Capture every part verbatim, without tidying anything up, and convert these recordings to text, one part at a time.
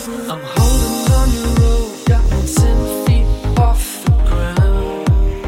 I'm holding on your rope, got me ten feet off the ground.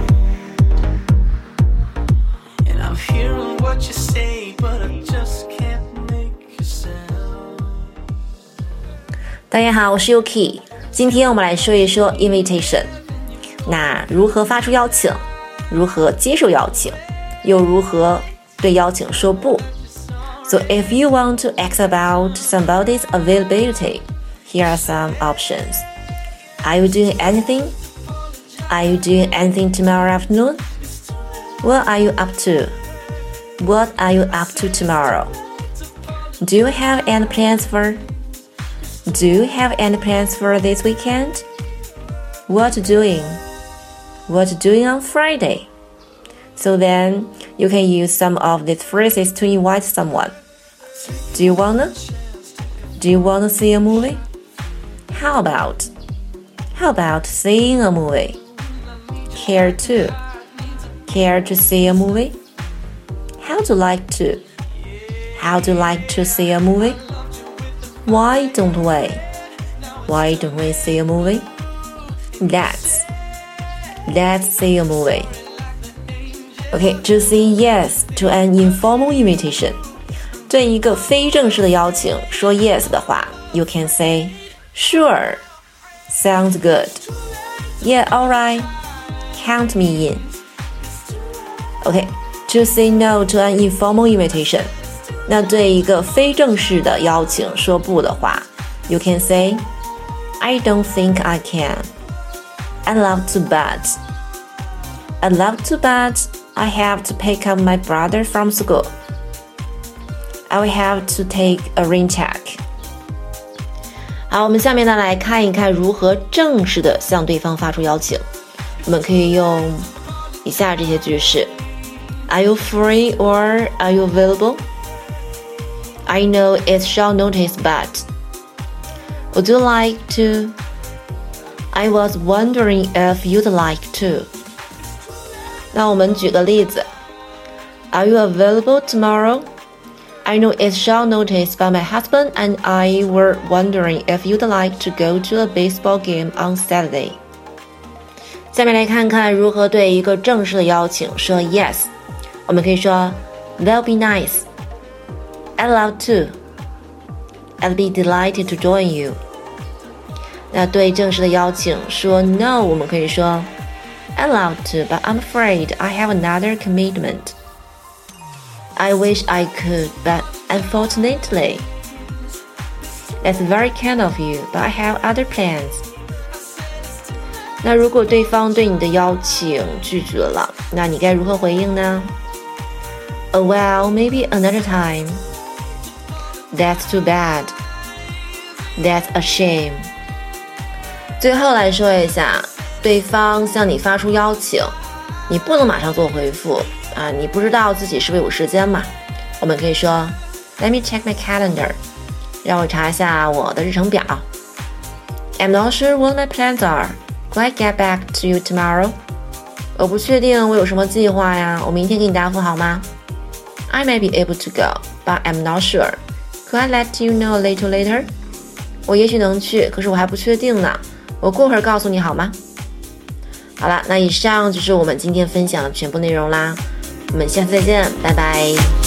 And I'm hearing what you say, but I just can't make a sound. 大家好，我是 Yuki， 今天我们来说一说 invitation。那如何发出邀请？如何接受邀请？又如何对邀请说不？ So if you want to ask about somebody's availability, here are some options. Are you doing anything? Are you doing anything tomorrow afternoon? What are you up to? What are you up to tomorrow? Do you have any plans for? Do you have any plans for this weekend? What doing? What doing on Friday? So then, you can use some of these phrases to invite someone. Do you wanna? Do you wanna see a movie? How about? How about seeing a movie? Care to? Care to see a movie? How to like to? How to like to see a movie? Why don't we? Why don't we see a movie? Let's. Let's see a movie. Okay, to say yes to an informal invitation. 对一个非正式的邀请说 yes 的话 you can say sure, sounds good, yeah, alright, count me in. Okay, to say no to an informal invitation. 那对一个非正式的邀请说不的话 you can say I don't think I can. I'd love to but I'd love to but I have to pick up my brother from school. I will have to take a rain check. 好，我们下面呢来看一看如何正式的向对方发出邀请。我们可以用以下这些句式 Are you free or are you available? I know it's short notice, but would you like to? I was wondering if you'd like to. 那我们举个例子 Are you available tomorrow? I know it's short notice, but my husband and I were wondering if you'd like to go to a baseball game on Saturday. 下面来看看如何对一个正式的邀请说 yes. 我们可以说 That'll be nice. I'd love to. I'd be delighted to join you. 那对正式的邀请说 no, 我们可以说I'd love to, but I'm afraid I have another commitment. I wish I could, but unfortunately. That's very kind of you, but I have other plans. 那如果对方对你的邀请拒绝了，那你该如何回应呢？ Oh well, maybe another time. That's too bad. That's a shame. 最后来说一下对方向你发出邀请，你不能马上做回复啊，你不知道自己是不是有时间嘛？我们可以说 Let me check my calendar. 让我查一下我的日程表。I'm not sure what my plans are. Could I get back to you tomorrow? 我不确定我有什么计划呀，我明天给你答复好吗？ I may be able to go, but I'm not sure. Could I let you know a little later? 我也许能去，可是我还不确定呢，我过会儿告诉你好吗？好了，那以上就是我们今天分享的全部内容啦，我们下次再见，拜拜。